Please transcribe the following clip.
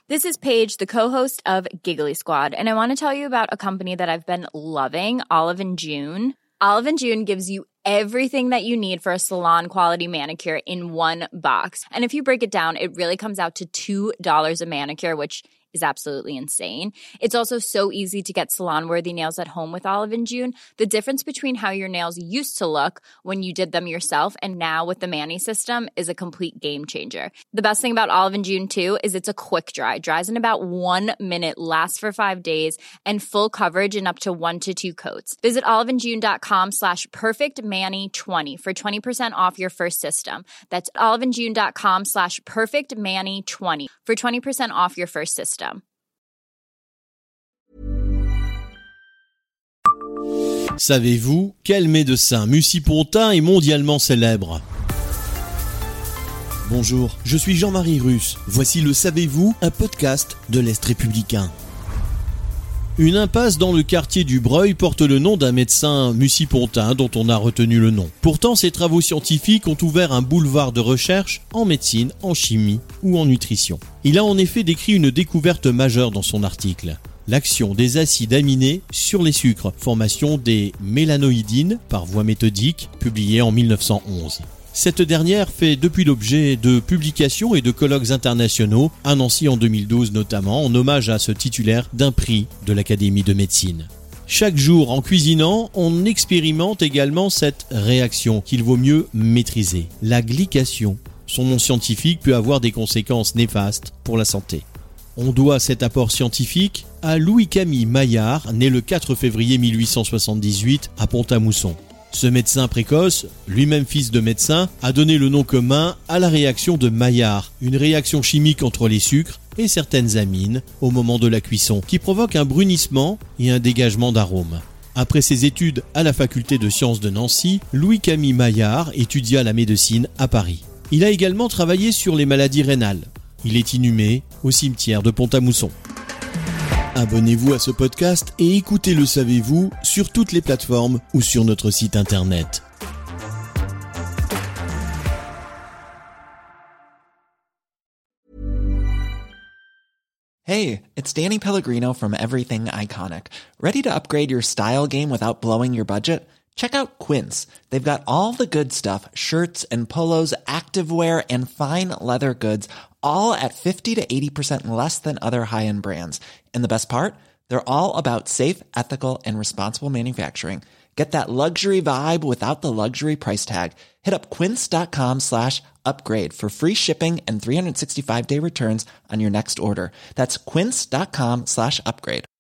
This is Paige, the co-host of Giggly Squad, and I want to tell you about a company that I've been loving, Olive & June. Olive & June gives you everything that you need for a salon-quality manicure in one box. And if you break it down, it really comes out to $2 a manicure, which is absolutely insane. It's also so easy to get salon-worthy nails at home with Olive & June. The difference between how your nails used to look when you did them yourself and now with the Mani system is a complete game changer. The best thing about Olive & June, too, is it's a quick dry. Dries in about 1 minute, lasts for 5 days, and full coverage in up to 1 to 2 coats. Visit oliveandjune.com/perfectmani20 for 20% off your first system. That's oliveandjune.com/perfectmani20 for 20% off your first system. Savez-vous quel médecin Mussy-Pontin est mondialement célèbre ? Bonjour, je suis Jean-Marie Russe. Voici le Savez-vous, un podcast de l'Est républicain. Une impasse dans le quartier du Breuil porte le nom d'un médecin Mussy-Pontin dont on a retenu le nom. Pourtant, ses travaux scientifiques ont ouvert un boulevard de recherche en médecine, en chimie ou en nutrition. Il a en effet décrit une découverte majeure dans son article. L'action des acides aminés sur les sucres, formation des mélanoïdines par voie méthodique, publiée en 1911. Cette dernière fait depuis l'objet de publications et de colloques internationaux, à Nancy en 2012 notamment, en hommage à ce titulaire d'un prix de l'Académie de médecine. Chaque jour, en cuisinant, on expérimente également cette réaction qu'il vaut mieux maîtriser, la glycation. Son nom scientifique peut avoir des conséquences néfastes pour la santé. On doit cet apport scientifique à Louis-Camille Maillard, né le 4 février 1878 à Pont-à-Mousson. Ce médecin précoce, lui-même fils de médecin, a donné le nom commun à la réaction de Maillard, une réaction chimique entre les sucres et certaines amines au moment de la cuisson, qui provoque un brunissement et un dégagement d'arômes. Après ses études à la faculté de sciences de Nancy, Louis-Camille Maillard étudia la médecine à Paris. Il a également travaillé sur les maladies rénales. Il est inhumé au cimetière de Pont-à-Mousson. Abonnez-vous à ce podcast et écoutez Le Savez-vous sur toutes les plateformes ou sur notre site internet. Hey, it's Danny Pellegrino from Everything Iconic. Ready to upgrade your style game without blowing your budget? Check out Quince. They've got all the good stuff, shirts and polos, activewear, and fine leather goods, all at 50 to 80% less than other high-end brands. And the best part? They're all about safe, ethical, and responsible manufacturing. Get that luxury vibe without the luxury price tag. Hit up quince.com/upgrade for free shipping and 365-day returns on your next order. That's quince.com/upgrade.